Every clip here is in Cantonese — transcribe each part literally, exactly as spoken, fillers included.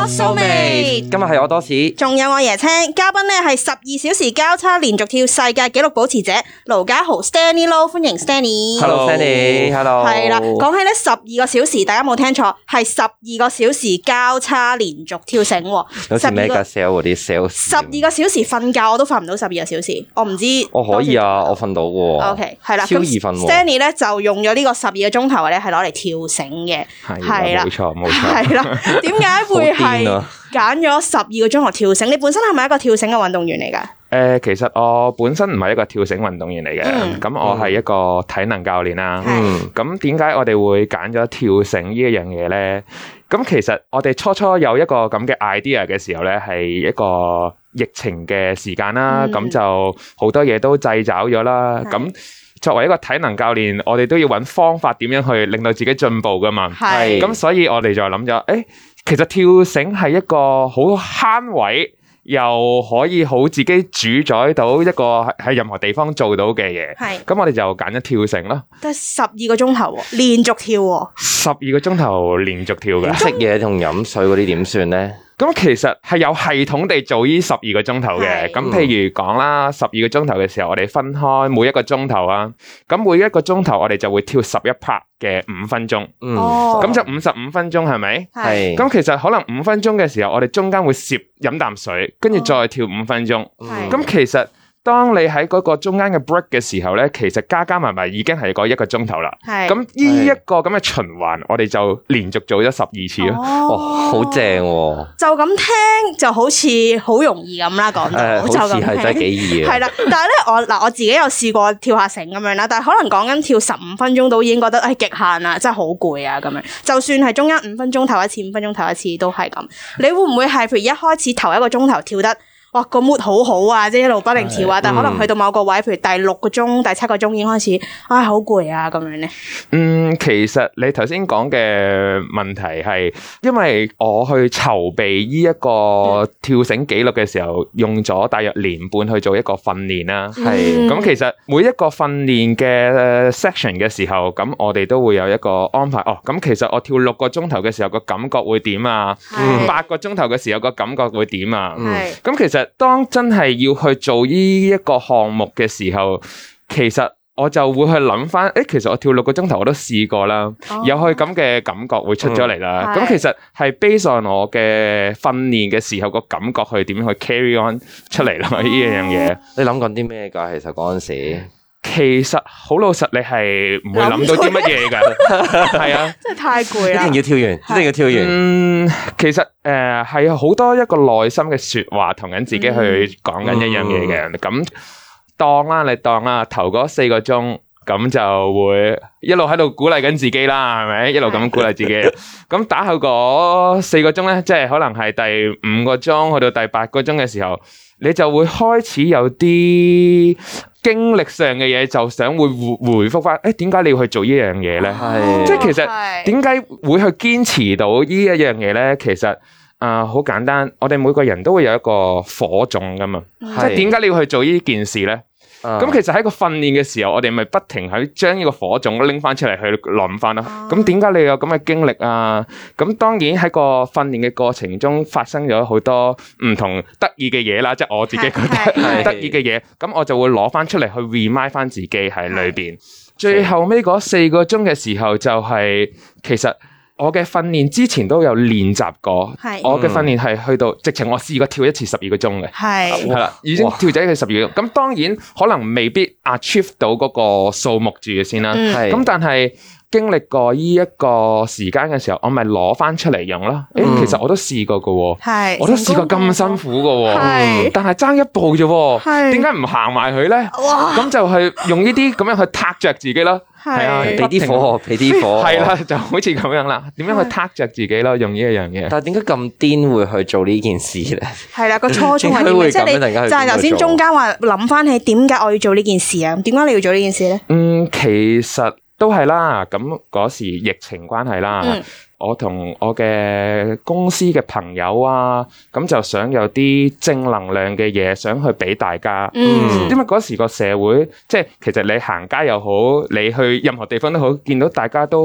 soulmate， 今日係我多士， 仲有我椰青，嘉賓咧係十二小時交叉連續跳世界紀錄保持者盧家豪 Stanley Low， 歡迎 Stanley。Hello Stanley，Hello。 係啦，講起咧十二個小時，大家冇聽錯，係十二個小時交叉連續跳繩喎。 好似 mega sale 嗰啲 sales。 十二個小時瞓覺我都瞓唔到十二個小時，我唔知。 我可以啊，我瞓到喎。 OK， 係啦， 超易瞓喎。 Stanley 咧就用咗呢個十二個鐘頭咧，係攞嚟跳繩嘅。 係啦，冇錯冇錯。 係啦，點解會係揀咗十二個鐘頭跳繩？你本身係咪一個跳繩嘅運動員嚟㗎？ 誒、呃，其實我本身唔係一個跳繩運動員嚟嘅，咁、嗯、我係一個體能教練啦。咁點解我哋會揀咗跳繩呢一樣嘢咧？咁其實我哋初初有一個咁嘅 idea 嘅時候咧，係一個疫情嘅時間啦，咁、嗯、就好多嘢都掣肘咗啦。咁作為一個體能教練，我哋都要揾方法點樣去令到自己進步噶嘛。係，咁所以我哋就諗咗，誒、欸，其實跳繩係一個好慳位，又可以好自己主宰到一個喺任何地方做到嘅嘢。係，咁我哋就揀咗跳繩咯。得十二個鐘頭喎，連續跳喎。 十二個鐘頭連續跳嘅。 食嘢同飲水嗰啲點算咧？ 咁其實係有系統地做呢十二個鐘頭嘅。咁譬如講啦，十二個鐘頭嘅時候，我哋分開每一個鐘頭啊。咁每一個鐘頭我哋就會跳十一 part 嘅五分鐘。嗯。咁就五十五分鐘係咪？係。咁其實可能五分鐘嘅時候，我哋中間會攝飲啖水，跟住再跳五分鐘。係。咁其實當你喺嗰個中間嘅 break 嘅時候咧，其實加加埋埋已經係嗰一個鐘頭啦。係。咁呢一個咁嘅循環，我哋就連續做咗十二次咯。 哦，好正喎！ 就咁聽就好似好容易咁啦，講到、呃、就咁聽。好似係真係幾易嘅。係啦，但係咧我嗱我自己有試過跳下繩咁樣啦，但係可能講緊跳十五分鐘都已經覺得係極限啦，真係好攰啊咁樣。就算係中間五分鐘頭一次，五分鐘頭一次都係咁。你會唔會係譬如一開始頭一個鐘頭跳得？哇，個 mood 好好啊，即係一路不停跳啊，但係可能去到某個位，譬如第六個鐘、第七個鐘已經開始，唉，好攰啊咁樣咧。 嗯，其實你頭先講嘅問題係，因為我去籌備呢一個跳繩紀錄嘅時候，用咗大約年半去做一個訓練啦。係，咁其實每一個訓練嘅 section 嘅時候，咁我哋都會有一個安排。哦，咁其實我跳六個鐘頭嘅時候個感覺會點啊？八個鐘頭嘅時候個感覺會點啊？係，咁其實。當真係要去做呢一個項目嘅時候，其實我就會去諗翻，誒，其實我跳六個鐘頭我都試過啦，哦、有去咁嘅感覺會出咗嚟啦。咁、嗯、其實係 based on 我嘅訓練嘅時候個感覺去點樣去 carry on 出嚟咯，呢樣嘢。 你諗緊啲咩㗎？其實嗰陣時。 其實好老實，你係唔會諗到啲乜嘢㗎，係啊， 真係太攰啦！ 一定要跳完，一定要跳完。 嗯，其實誒係好多一個內心嘅說話，同緊自己去講緊一樣嘢嘅。咁、嗯、當啦，你當啦，頭嗰四個鐘，咁就會一路喺度鼓勵緊自己啦，係咪？一路咁鼓勵自己。咁打後嗰四個鐘咧，即係可能係第五個鐘去到第八個鐘嘅時候，你就會開始有啲經歷上嘅嘢，就想會回回覆翻，誒，點解你要去做呢樣嘢咧？係，即係其實點解會去堅持到呢一樣嘢咧？其實啊，好簡單，我哋每個人都會有一個火種噶嘛，即係點解你要去做呢件事咧？咁、嗯、其實喺個訓練嘅時候，我哋咪不停喺將呢個火種拎翻出嚟去諗翻咯。咁點解你有咁嘅經歷啊？咁當然喺個訓練嘅過程中發生咗好多唔同得意嘅嘢啦，即係我自己覺得得意嘅嘢。咁我就會攞翻出嚟去 remind 翻自己喺裏邊。最後尾嗰四個鐘嘅時候就係、是、其實。我嘅訓練之前都有練習過，我嘅訓練係去到直情我試過跳一次十二個鐘嘅，係係啦，已經跳咗一次十二個鐘。咁當然可能未必 achieve 到嗰個數目住嘅先啦，咁、嗯、但係經歷過呢一個時間嘅時候，我咪攞翻出嚟用咯。誒、嗯欸，其實我都試過㗎喎，我都試過咁辛苦㗎喎，但係爭一步啫，點解唔行埋佢咧？咁就係用呢啲咁樣去撻着自己咯。係啊，俾啲火，俾啲火，係啦，就好似咁樣啦。點樣去撻着自己咯？用呢一樣嘢。但係點解咁癲會去做呢件事咧？係啦，個初衷係點嘅？即係你就係頭先中間話諗翻起點解我要做呢件事啊？點解你要做呢件事咧？嗯，其實都係啦。咁嗰時疫情關係啦。嗯我同我嘅公司嘅朋友啊，咁就想有啲正能量嘅嘢，想去俾大家。嗯，因為嗰時個社會，即係其實你行街又好，你去任何地方都好，見到大家都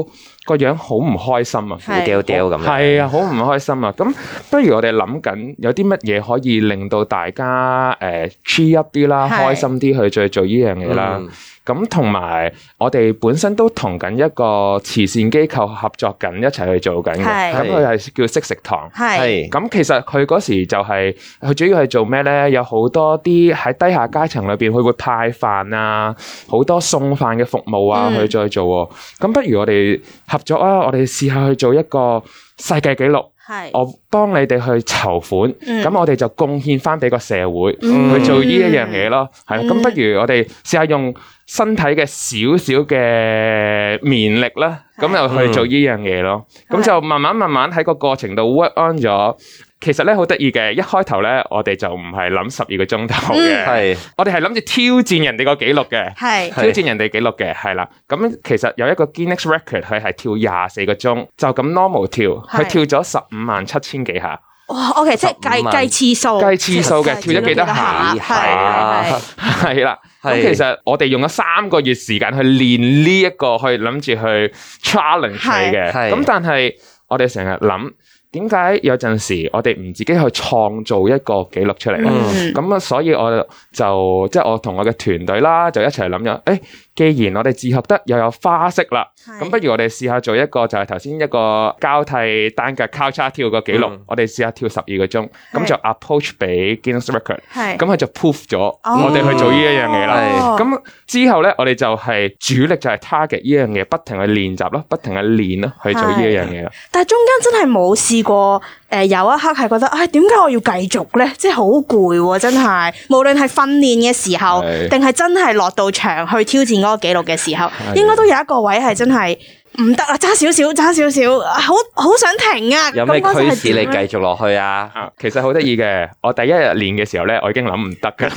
個樣好唔開心啊， 苦掉掉咁樣。 係啊，好唔開心啊。咁不如我哋諗緊有啲乜嘢可以令到大家誒 cheer up 啲啦，開心啲去再做呢樣嘢啦。咁同埋我哋本身都同緊一個慈善機構合作緊，一齊去做緊嘅。咁佢係叫惜食堂。係咁，其實佢嗰時就係、是、佢主要係做咩咧？有好多啲喺低下階層裏邊，佢會派飯啊，好多送飯嘅服務啊，去再做。咁、嗯、不如我哋合作啊！我哋試下去做一個世界紀錄。我幫你哋去籌款，咁、嗯、我哋就貢獻翻俾個社會、嗯、去做呢一樣嘢咯。係啦，咁、嗯、不如我哋試下用身體嘅少少嘅綿力啦，咁又去做呢樣嘢咯。咁、嗯、就慢慢慢慢喺個過程度 work on 咗。其實咧好得意嘅，一開頭咧我哋就唔係諗十二個鐘頭嘅，係、嗯、我哋係諗住挑戰人哋個紀錄嘅，係挑戰人哋紀錄嘅，係啦。咁其實有一個 Guinness Record， 佢係跳廿四個鐘，就咁 normal 跳，佢跳咗十五萬七千幾下。哇 ，OK， 即係計計次數，計次數嘅，跳咗幾多下？係啦，係啦。咁其實我哋用咗三個月時間去練呢一個，去諗住去 challenge 佢嘅。咁但係我哋成日諗。點解有陣時我哋唔自己去創造一個紀錄出嚟咧？咁啊、嗯，所以我就即係我同我嘅團隊啦，就一齊諗咗，誒，既然我哋自學得又有花式啦，咁不如我哋試下做一個就係頭先一個交替單腳交叉跳個紀錄，嗯、我哋試下跳十二個鐘，咁就 approach 俾 Guinness Record， 咁佢就 proof 咗我哋去做呢一樣嘢啦。咁、哦、之後咧，我哋就係主力就係 target 呢樣嘢，不停去練習咯，不停去練咯，去做呢一樣嘢啦。但係中間真係冇試過。誒、呃，有一刻係覺得，唉、哎，點解我要繼續咧？即係好攰喎，真係。無論係訓練嘅時候，定係真係落到場去挑戰嗰個紀錄嘅時候，應該都有一個位係真係唔得啦，差少少，差少少，好好想停啊！有咩驅使你繼續落去啊？啊，其實好得意嘅，我第一日練嘅時候咧，我已經諗唔得㗎，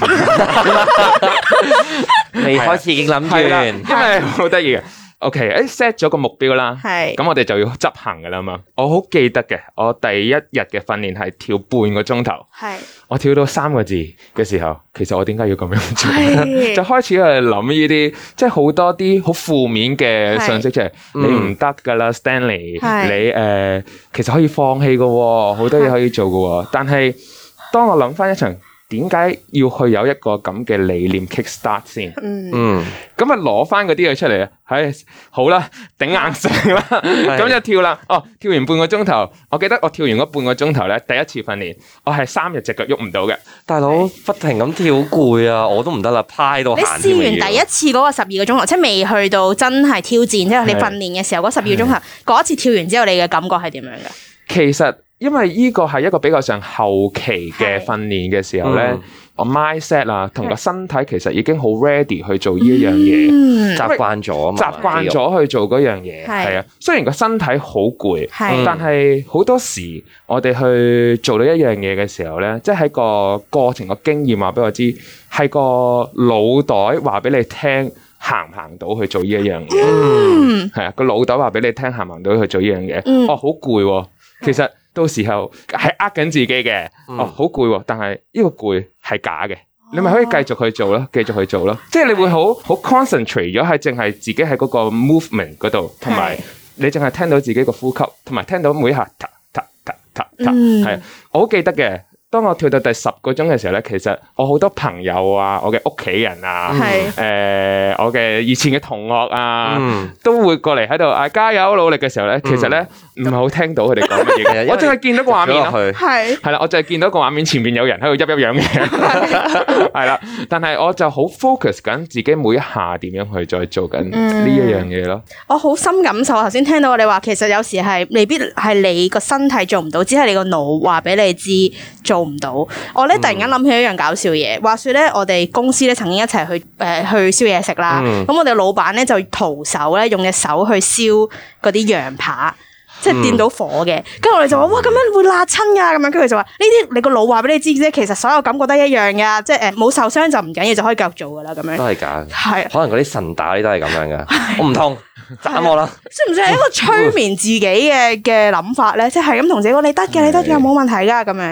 未開始已經諗完，因為好得意嘅。OK， 誒 set 咗個目標啦，係，咁我哋就要執行噶啦嘛。我好記得嘅，我第一日嘅訓練係跳半個鐘頭，係，我跳到三個字嘅時候，其實我點解要咁樣做？就開始去諗呢啲，即係好多啲好負面嘅信息，即係你唔得噶啦 ，Stanley，你誒、呃、其實可以放棄噶，好多嘢可以做噶。但係當我諗翻一層。點解要去有一個咁嘅理念 kickstart 先？嗯，咁啊攞翻嗰啲嘢出嚟啊，係好啦，頂硬上啦，咁就跳啦。哦，跳完半個鐘頭，我記得我跳完嗰半個鐘頭咧，第一次訓練，我係三日隻腳喐唔到嘅。大佬不停咁跳，好攰啊，我都唔得啦，趴喺度行。你試完第一次嗰個十二個鐘頭，即係未去到真係挑戰，即係你訓練嘅時候嗰十二個鐘頭，嗰一次跳完之後，你嘅感覺係點樣嘅？其實。因為呢個係一個比較上後期嘅訓練嘅時候咧，嗯、我 mindset 啊同個身體其實已經好 ready 去做呢一樣嘢，嗯、習慣咗啊嘛，習慣咗去做嗰樣嘢，係啊。雖然個身體好攰，但係好多時我哋去做到一樣嘢嘅時候咧，即係喺個過程個經驗話俾我知，係個腦袋話俾你聽行唔行到去做呢一樣嘢，係啊、嗯，個腦袋話俾你聽行唔行到去做呢樣嘢，嗯、哦好攰喎，其實。到時候係呃緊自己嘅，嗯、哦好攰喎，但係呢個攰係假嘅，哦、你咪可以繼續去做咯，繼續去做咯，即係你會好好 concentrate 咗喺淨係自己喺嗰個 movement 嗰度，同埋你淨係聽到自己個呼吸，同埋聽到每一下嗒嗒嗒嗒嗒，係我好記得嘅。當我跳到第十個鐘嘅時候咧，其實我好多朋友啊，我嘅屋企人啊，誒、呃，我嘅以前嘅同學啊，嗯、都會過嚟喺度啊加油努力嘅時候咧，其實咧唔係好聽到佢哋講乜嘢，我淨係見到個畫面咯，係係啦，我就係見到個畫面前面有人喺度喐喐樣嘅，係啦，但係我就好 focus 緊自己每一下點樣去再做緊呢一樣嘢咯。我好深感受，頭先聽到我哋話，其實有時係未必係你個身體做唔到，只係你個腦話俾你知做唔到。我咧突然間諗起一樣搞笑嘢，話說咧我哋公司咧曾經一齊去誒、呃、去燒嘢食啦，咁、嗯、我哋老闆咧就徒手咧用隻手去燒嗰啲羊扒，即係掂到火嘅，跟住、嗯、我哋就話哇咁樣會辣親噶，咁樣跟住佢就話呢啲你個腦話俾你知啫，其實所有感覺都一樣噶，即係誒冇受傷就唔緊要，就可以繼續做噶啦，咁樣都係假嘅，係可能嗰啲神打啲都係咁樣噶，我唔痛。斬我啦！算唔算係一個催眠自己嘅嘅諗法咧？即係咁同自己講，你得嘅，你得嘅，冇問題噶咁樣。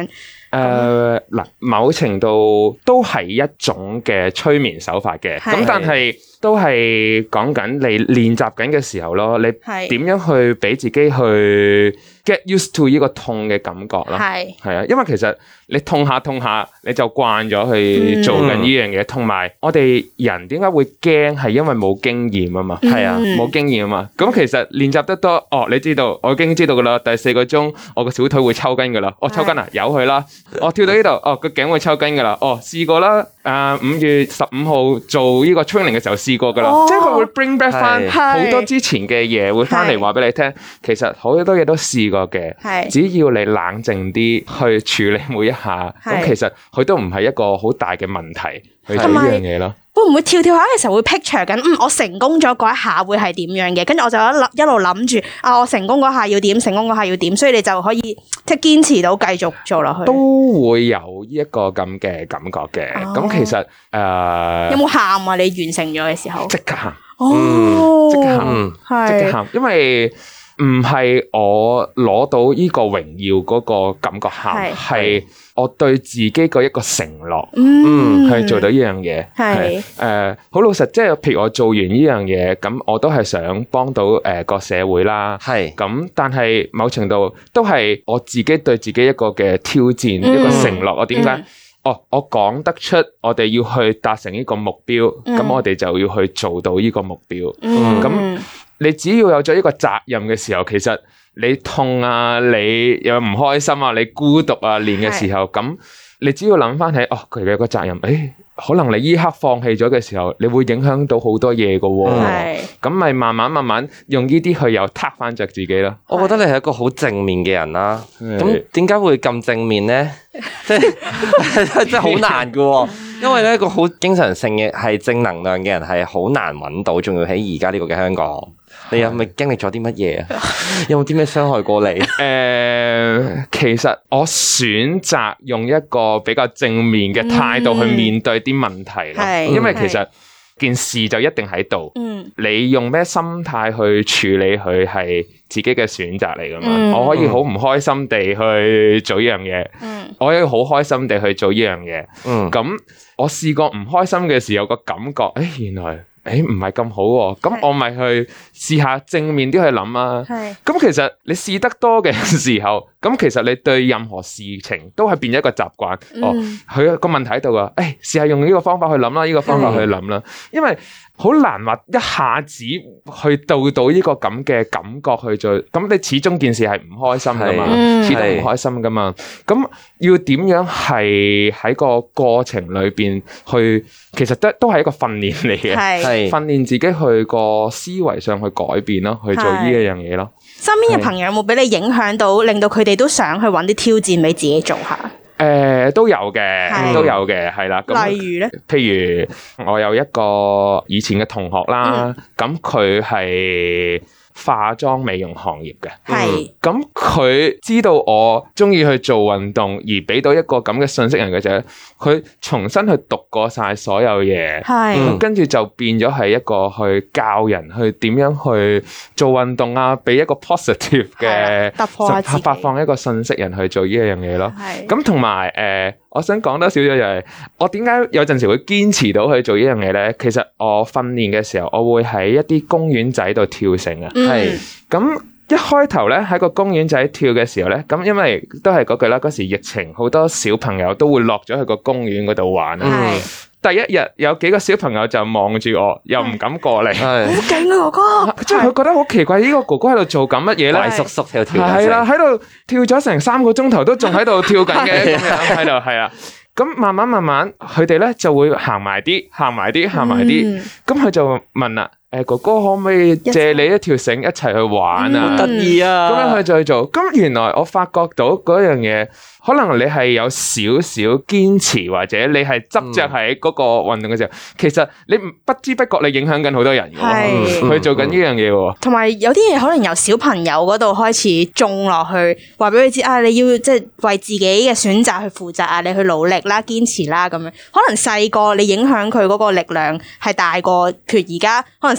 誒嗱，某程度都係一種嘅催眠手法嘅，咁但係都係講緊你練習緊嘅時候咯，你點樣去俾自己去 get used to 呢個痛嘅感覺咯，係係啊，因為其實你痛下痛下你就慣咗去做緊呢樣嘢，同埋、嗯、我哋人點解會驚係因為冇經驗啊嘛，係啊，冇經驗啊嘛，咁其實練習得多，哦，你知道我已經知道噶啦，第四個鐘我個小腿會抽筋噶啦，我抽筋啊，由佢啦，我跳到呢度，哦個頸會抽筋噶啦，哦試過啦，誒、呃、五月十五號做呢個 training 嘅時候試過噶啦，哦、即係佢會 bring back 翻好多之前嘅嘢會翻嚟話俾你聽，其實好多嘢都試過嘅，只要你冷靜啲去處理每一下，咁其實佢都唔係一個好大嘅問題去做呢樣嘢咯。 會唔會跳跳下嘅時候會 picture 緊，嗯，我成功咗嗰一下會係點樣嘅？跟住我就一諗一路諗住，啊，我成功嗰下要點，成功嗰下要點，所以你就可以即係堅持到繼續做落去。 都會有呢一個咁嘅感覺嘅。咁、哦、其實誒，呃、 有冇喊啊？你完成咗嘅時候， 即刻喊， 哦， 即刻喊，即刻喊，因為。唔係我攞到呢個榮耀嗰個感覺喊，係我對自己個一個承諾，嗯，去做到呢樣嘢，係誒好老實，即係譬如我做完呢樣嘢，咁我都係想幫到誒個社會啦，係咁，但係某程度都係我自己對自己一個嘅挑戰，嗯、一個承諾。我點解？嗯、哦，我講得出，我哋要去達成呢個目標，咁、嗯、我哋就要去做到呢個目標，咁、嗯。嗯你只要有咗一個責任嘅時候，其實你痛啊，你又唔開心啊，你孤獨啊，練嘅時候，咁你只要諗翻起，哦，佢嘅個責任，誒、哎，可能你依刻放棄咗嘅時候，你會影響到好多嘢噶喎，咁咪慢慢慢慢用呢啲去又撻翻着自己咯。 我覺得你係一個好正面嘅人啦，咁點解會咁正面咧？即係即係好難噶喎。因為咧，一個好經常性嘅係正能量嘅人係好難揾到，仲要喺而家呢個嘅香港。你有冇經歷咗啲乜嘢啊？有冇啲咩傷害過你？誒、 呃，其實我選擇用一個比較正面嘅態度去面對啲問題咯，嗯、因為其實件事就一定喺度。嗯，你用咩心態去處理佢係自己嘅選擇嚟噶嘛？嗯、我可以好唔開心地去做呢樣嘢，嗯、我可以好開心地去做呢樣嘢。嗯，咁我試過唔開心嘅時候，個感覺，誒，原來。誒，唔係咁好喎，咁我咪去試下正面啲去諗啊。係，咁其實你試得多嘅時候，咁其實你對任何事情都係變咗一個習慣。嗯、哦，佢個問題喺度啊，誒，試下用呢個方法去諗啦，呢、呢個方法去諗啦，因為好難話一下子去到到呢個咁嘅感覺去做，咁你始終件事係唔開心噶嘛，始終唔開心噶嘛，咁要點樣係喺個過程裏邊去，其實都都係一個訓練嚟嘅，係訓練自己去個思維上去改變咯，去做呢一樣嘢咯。 身邊嘅朋友有冇俾你影響到，令到佢哋都想去揾啲挑戰俾自己做下？ 誒、呃，都有嘅，都有嘅，係啦。 例如咧， 譬如我有一個以前嘅同學啦，咁佢係化妝美容行業嘅，係咁佢知道我中意去做運動，而俾到一個咁嘅信息人嘅啫。佢重新去讀過晒所有嘢，係咁跟住就變咗係一個去教人去點樣去做運動啊，俾一個 positive 嘅突破自己， 發放一個信息人去做呢一樣嘢咯。係咁同埋誒，我想講多少少就係我點解有陣時會堅持到去做呢樣嘢咧？其實我訓練嘅時候，我會喺一啲公園仔度跳繩啊。係咁、嗯、一開頭咧喺個公園仔跳嘅時候咧，咁因為都係嗰句啦，嗰時疫情好多小朋友都會落咗去個公園嗰度玩啊。係、嗯、第一日有幾個小朋友就望住我，又唔敢過嚟。係好勁啊，哥哥！ 即係佢覺得好奇怪，呢、這個哥哥喺度做緊乜嘢咧？ 大叔叔喺度跳緊。 係啦，喺度跳咗成三個鐘頭都仲喺度跳緊嘅，咁樣喺度係啊。咁慢慢慢慢，佢哋咧就會行埋啲，行埋啲，行埋啲。咁佢、嗯、就問啦。誒，哥哥可唔可以借你一條繩一齊去玩啊？ 得意啊！ 咁樣去再做，咁原來我發覺到嗰樣嘢，可能你係有少少堅持，或者你係執着喺嗰個運動嘅時候，嗯、其實你不知不覺你影響緊好多人嘅，去、嗯、做緊呢樣嘢。同埋有啲嘢可能由小朋友嗰度開始種落去，話俾佢知啊，你要即係為自己嘅選擇去負責啊，你去努力啦，堅持啦，咁樣。可能細個你影響佢嗰個力量係大過，譬如而家可能。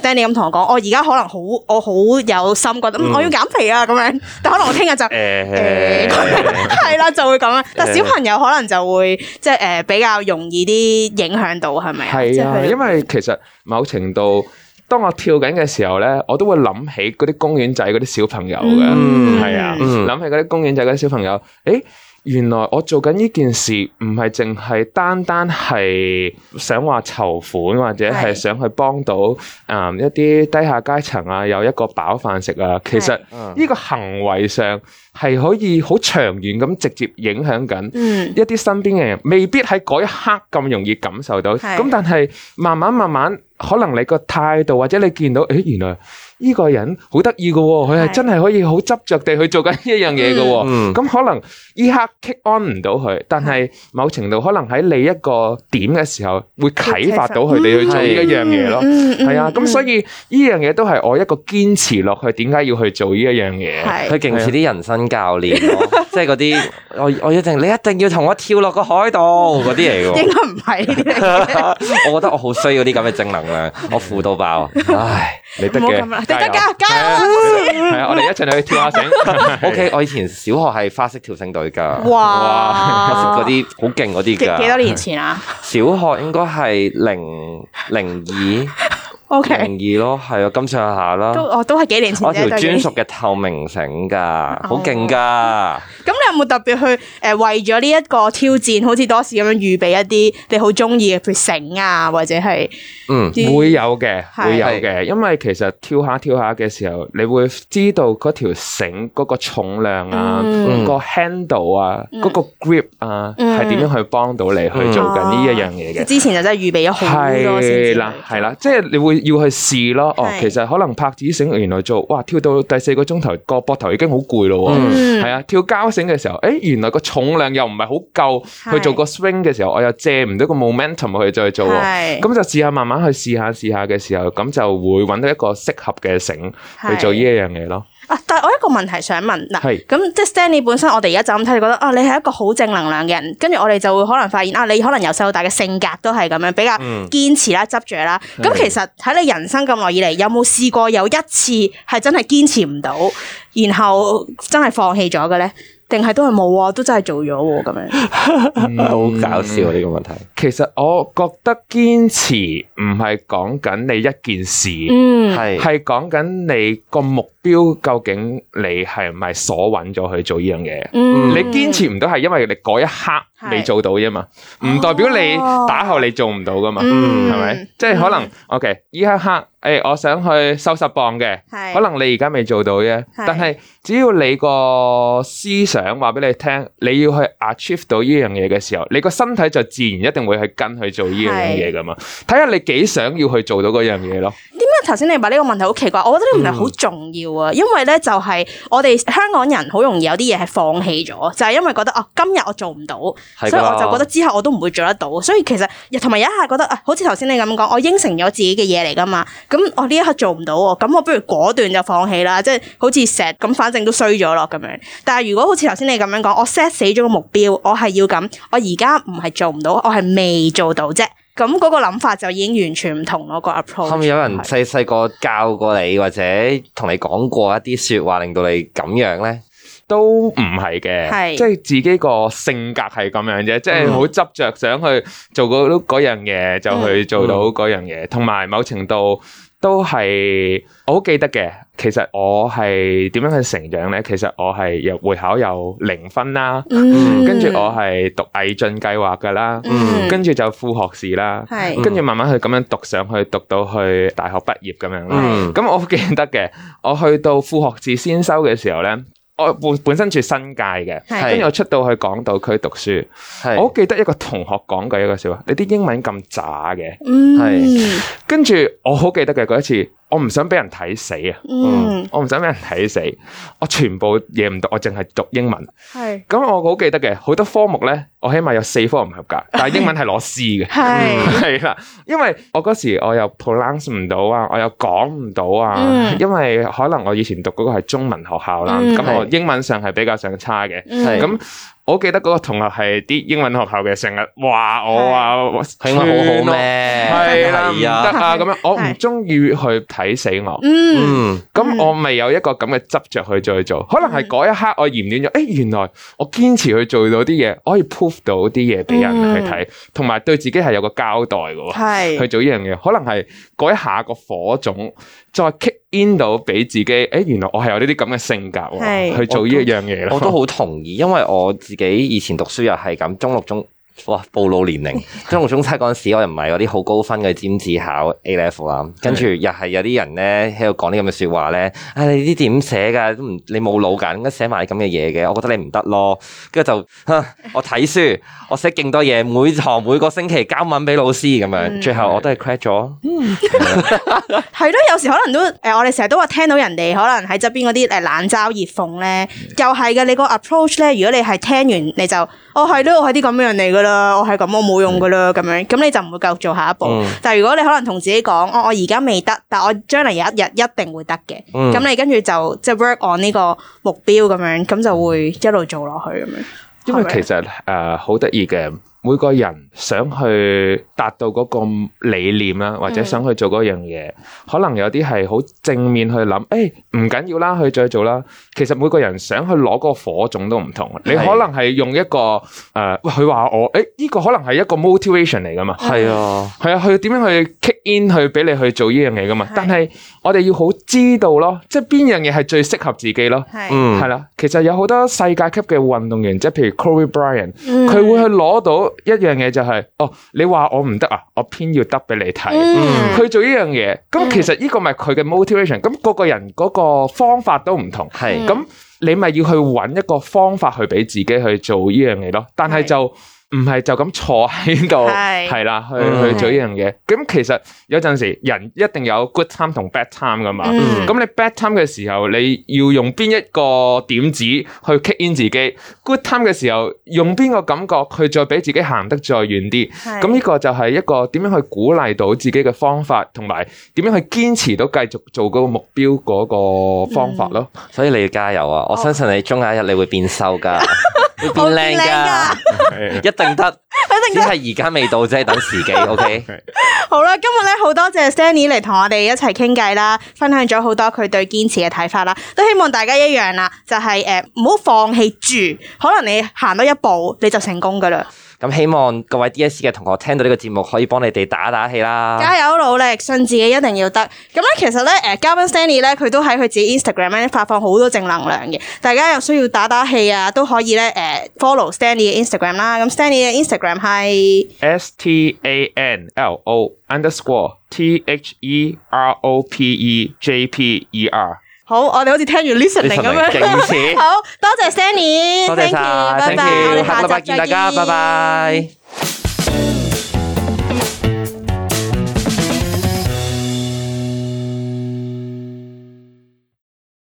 Stanley 咁同我講，我而家可能好我好有心覺得、嗯、我要減肥啊咁樣，但可能我聽日就誒係啦就會咁樣。但小朋友可能就會即係誒比較容易啲影響到係咪啊？ 係啊，因為其實某程度。當我跳緊嘅時候咧，我都會諗起嗰啲公園仔嗰啲小朋友嘅，係、嗯、啊，諗、嗯、起嗰啲公園仔嗰啲小朋友，誒，原來我做緊呢件事唔係淨係單單係想話籌款或者係想去幫到誒、嗯、一啲低下階層啊，有一個飽飯食啊，其實呢個行為上係可以好長遠咁直接影響緊一啲身邊嘅人，未必喺嗰一刻咁容易感受到，咁但係慢慢慢慢。可能你個態度或者你見到，誒，原來呢個人好得意嘅，佢係真係可以好執着地去做緊一樣嘢嘅，咁、嗯、可能呢刻 kick on 唔到佢，但係某程度可能喺你一個點嘅時候，會啟發到佢哋去做呢一樣嘢咯。係、嗯嗯、啊，咁、嗯、所以呢樣嘢都係我一個堅持落去，點解要去做呢一樣嘢？ 佢勁似啲人生教練咯，即係嗰啲我我一定你一定要同我跳落個海度嗰啲嚟嘅。 應該唔係， 我覺得我好需要啲咁嘅正能量。我負到爆，唉，你得嘅， 加油，加油！ 係啊，我哋一齊去跳下繩。 O K， 我以前小學係花式跳繩隊噶， 哇， 嗰啲好勁嗰啲噶。 幾多年前啊？ 小學應該係零零二。 O K， 零二咯，係啊，咁上下啦。 都我都係幾年前。 我條專屬嘅透明繩噶，好勁噶。 咁你有冇特別去誒、呃、為咗呢一個挑戰，好似多士咁樣預備一啲你好中意嘅，譬如繩啊，或者係嗯會有嘅，會有嘅。因為其實跳下跳下嘅時候，你會知道嗰條繩嗰個重量啊，嗯、個 handle 啊，嗰、嗯、個 grip 啊，係點、嗯、樣去幫到你去做緊呢一樣嘢嘅。 之前就真係預備咗好多先。係啦， 係啦，即係你會。要去試咯，哦，其實可能拍子繩原來做，哇，跳到第四個鐘頭個膊頭已經好攰咯，係、嗯、啊，跳膠繩嘅時候，誒，原來個重量又唔係好夠去做個 swing 嘅時候，我又借唔到個 momentum 去再做，咁就試下慢慢去試下試下嘅時候，咁就會揾到一個適合嘅繩去做呢一樣嘢咯。 啊！但係我一個問題想問嗱，咁即係 Stanley 本身，我哋而家就咁睇，你覺得啊，你係一個好正能量嘅人，跟住我哋就會可能發現啊，你可能由細到大嘅性格都係咁樣，比較堅持啦、執着啦。咁、嗯、其實喺你人生咁耐以嚟，有冇試過有一次係真係堅持唔到，然後真係放棄咗嘅咧？定係都係冇啊？都真係做咗喎，咁樣好搞笑呢、呢個問題。 其實我覺得堅持唔係講緊你一件事， 嗯， 係係講緊你個目標究竟你係唔係鎖穩咗去做呢樣嘢？嗯，你堅持唔到係因為你嗰一刻未做到啫嘛，唔代表你打後你做唔到噶嘛，嗯，係咪？即係可能 OK，呢一刻誒、欸，我想去收十磅嘅，可能你而家未做到啫，但係只要你個思想話俾你聽，你要去 achieve 到呢樣嘢嘅時候，你個身體就自然一定會去跟去做呢樣嘢噶嘛。睇下你幾想要去做到嗰樣嘢咯。 點解頭先你話呢個問題好奇怪？我覺得呢個問題好重要啊，嗯、因為咧就係我哋香港人好容易有啲嘢係放棄咗，就係、是、因為覺得哦、啊，今日我做唔到，所以我就覺得之後我都唔會做得到。所以其實同埋有一下覺得啊，好似頭先你咁講，我應承咗自己嘅嘢嚟噶嘛，咁我呢一刻做唔到，咁我不如果斷就放棄啦，即係好似石咁，反正都衰咗咯咁樣。但係如果好似頭先你咁樣講，我 set 死咗個目標，我係要咁，我而家唔係做唔到，我係未做到啫。咁嗰個諗法就已經完全唔同咯，個 approach。係咪有人細細個教過你，或者同你講過一啲說話，令到你咁樣咧？ 都唔係嘅，即係自己個性格係咁樣啫，即係好執着想去做嗰嗰樣嘢，就去做到嗰樣嘢，同埋某程度都係我好記得嘅。其實我係點樣去成長咧？其實我係有會考有零分啦，嗯、跟住我係讀毅進計劃噶啦，嗯、跟住就副學士啦，嗯、跟住慢慢去咁樣讀上去，讀到去大學畢業咁樣啦。咁、嗯、我記得嘅，我去到副學士先修嘅時候咧。我本本身住新界嘅，跟住我出到去港島區讀書，我好記得一個同學講過一個笑話，你啲英文咁渣嘅，係，跟住我好記得嘅嗰一次，我唔想俾人睇死啊，嗯，我唔想俾人睇死，我全部嘢唔讀，我淨係讀英文，係，咁我好記得嘅，好多科目咧，我起碼有四科唔合格，但係英文係攞 C 嘅，係，係啦，因為我嗰時我又 pronounce 唔到啊，我又講唔到啊，因為可能我以前讀嗰個係中文學校啦，咁我英文上係比較上差嘅，咁我記得嗰個同學係啲英文學校嘅，成日話我啊， 英文好好咩？ 係啦，唔得啊咁樣，我唔中意去睇死我。嗯，咁我咪有一個咁嘅執着去再做，可能係嗰一刻我驗斷咗，誒，原來我堅持去做到啲嘢，我可以 prove 到啲嘢俾人去睇，同埋對自己係有個交代嘅，係去做呢樣嘢，可能係嗰一下個火種再 kick in 到俾自己，誒，原來我係有呢啲咁嘅性格去做呢一樣嘢咯。 我都好同意，因為我自己以前讀書又係咁，中六中。哇！暴露年齡，中六中七嗰陣時，我又唔係嗰啲好高分嘅尖子考 A level 啦，跟住又係有啲人咧喺度講啲咁嘅説話咧，啊你呢啲點寫㗎？都唔你冇腦㗎，應該寫埋咁嘅嘢嘅，我覺得你唔得咯。跟住就，我睇書，我寫勁多嘢，每堂每個星期交文俾老師咁樣，嗯、最後我都係 credit 咗。嗯， 係咯，有時可能都誒，我哋成日都話聽到人哋可能喺側邊嗰啲誒冷嘲熱諷咧，又係嘅。你個 approach 咧，如果你係聽完你就，哦係咯，我係啲咁樣人嚟㗎啦，我係咁，我冇用㗎啦，咁樣，咁你就唔會繼續做下一步。嗯、但係如果你可能同自己講，哦我而家未得，但係我將來有一日一定會得嘅，咁、嗯、你跟住就即係 work on 呢個目標咁樣，咁就會一路做落去咁樣。 因為其實誒好得意嘅。每個人想去達到嗰個理念啦，或者想去做嗰樣嘢，嗯、可能有啲係好正面去諗，誒唔緊要啦，去再做啦。其實每個人想去攞嗰個火種都唔同，是你可能係用一個誒，喂、呃，佢話我，誒呢、這個可能係一個 motivation 嚟噶嘛，係啊，係啊，佢點樣去 kick in 去俾你去做呢樣嘢噶嘛？是但係我哋要好知道咯，即係邊樣嘢係最適合自己咯，係是，係啦、嗯。其實有好多世界級嘅運動員，即係譬如 Kobe Bryant，佢、嗯、會去攞到。一樣嘢就係、是，哦，你話我唔得啊，我偏要得俾你睇，嗯、去做呢樣嘢。咁其實呢個咪佢嘅 motivation。咁個個人嗰個方法都唔同，係咁、嗯、你咪要去揾一個方法去俾自己去做呢樣嘢咯。但係就。唔係就咁坐喺度，係啦，去去做呢樣嘢。咁其實有陣時人一定有 good time 同 bad time 噶嘛。咁、嗯、你 bad time 嘅時候，你要用邊一個點子去 kick in 自己 ？good time 嘅時候，用邊個感覺去再俾自己行得再遠啲？咁呢是個就係一個點樣去鼓勵到自己嘅方法，同埋點樣去堅持到繼續做嗰個目標嗰個方法咯。 嗯、所以你要加油啊！我相信你終有一日你會變瘦噶。會變靚噶，一定得，只係而家未到啫，等時機。OK， 好啦，今日咧好多謝 Stanley 嚟同我哋一齊傾偈啦，分享咗好多佢對堅持嘅睇法啦，都希望大家一樣啦，就係誒唔好放棄住，可能你行多一步你就成功噶啦。 咁希望各位 D S C 嘅同學聽到呢個節目，可以幫你哋打打氣啦！ 加油努力，信自己一定要得。咁咧，其實咧，誒，嘉賓 Stanley 咧，佢都喺佢自己 Instagram 咧發放好多正能量嘅。大家有需要打打氣啊，都可以咧，誒 follow Stanley 嘅 Instagram 啦。咁 Stanley 嘅 Instagram 係 S T A N L O underscore T H E R O P E J P E R。 好，我哋好似聽完 listening 咁樣。好多謝 Stanley， 多謝晒，thank you，下個禮拜見大家，拜拜。